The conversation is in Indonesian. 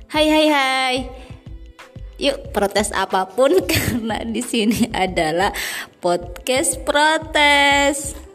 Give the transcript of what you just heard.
Hai hai hai. Yuk protes apapun karena di sini adalah podcast protes.